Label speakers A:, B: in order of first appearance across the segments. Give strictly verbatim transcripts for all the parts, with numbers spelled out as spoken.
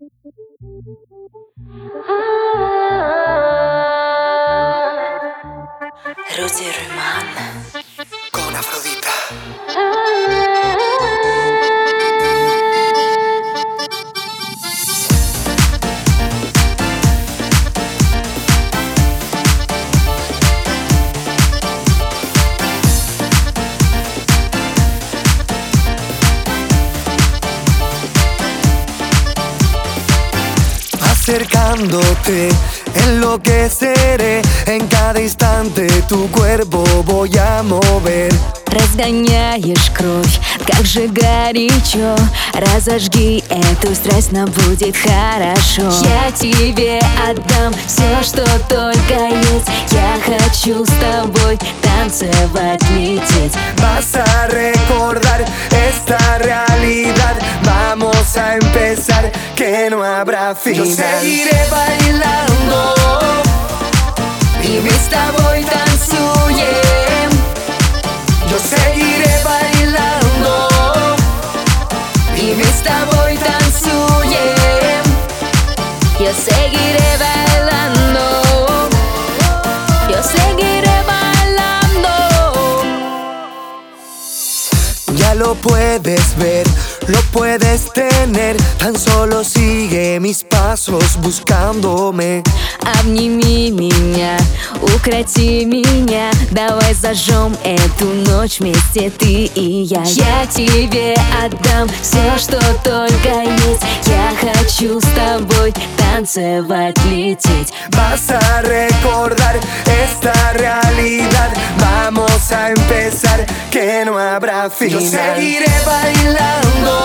A: Rudy Roman
B: con Afrodita. Acercándote, enloqueceré. En cada instante tu cuerpo voy a mover.
A: Разгоняешь кровь, как же горячо. Разожги эту страсть, нам будет хорошо. Я тебе отдам все, что только есть. Я хочу с тобой танцевать, лететь.
B: Vas a recordar esta realidad. Vamos a empezar, que no habrá final. Yo seguiré bailando
A: И мы с тобой танцуем.
B: Yo seguiré bailando
A: И мы с тобой танцуем. Yo seguiré bailando. Yo seguiré bailando.
B: Ya lo puedes ver, lo puedes tener. Tan solo sigue mis pasos buscándome.
A: Обними меня, укроти меня. Давай зажжем эту ночь вместе, ты и я. Я тебе отдам все, что только есть. Я хочу с тобой танцевать, лететь.
B: Vas a recordar esta realidad. Vamos a empezar, que no habrá final. Yo seguiré bailando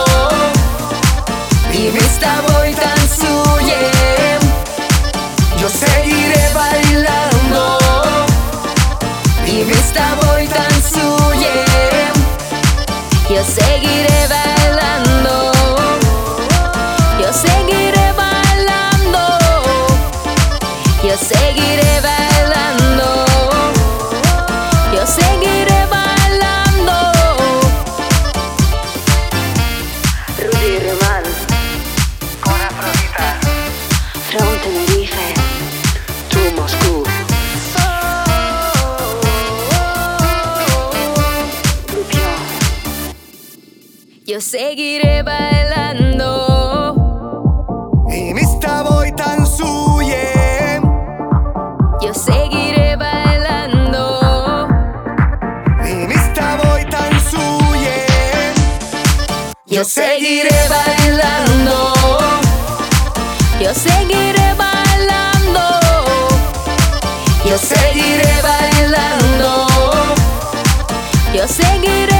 A: И мы с тобой танцуем.
B: Yo seguiré bailando
A: И мы с тобой танцуем. Yo seguiré bailando. Yo seguiré bailando. Yo seguiré bailando. Yo seguiré bailando. Rudy Roman
B: con Afrodita.
A: from Tenerife
B: To Moscú.
A: Yo seguiré bailando.
B: И мы с тобой танцуем.
A: Yo seguiré bailando.
B: И мы с тобой танцуем.
A: Yo seguiré bailando. Yo seguiré bailando. Yo seguiré bailando. Yo seguiré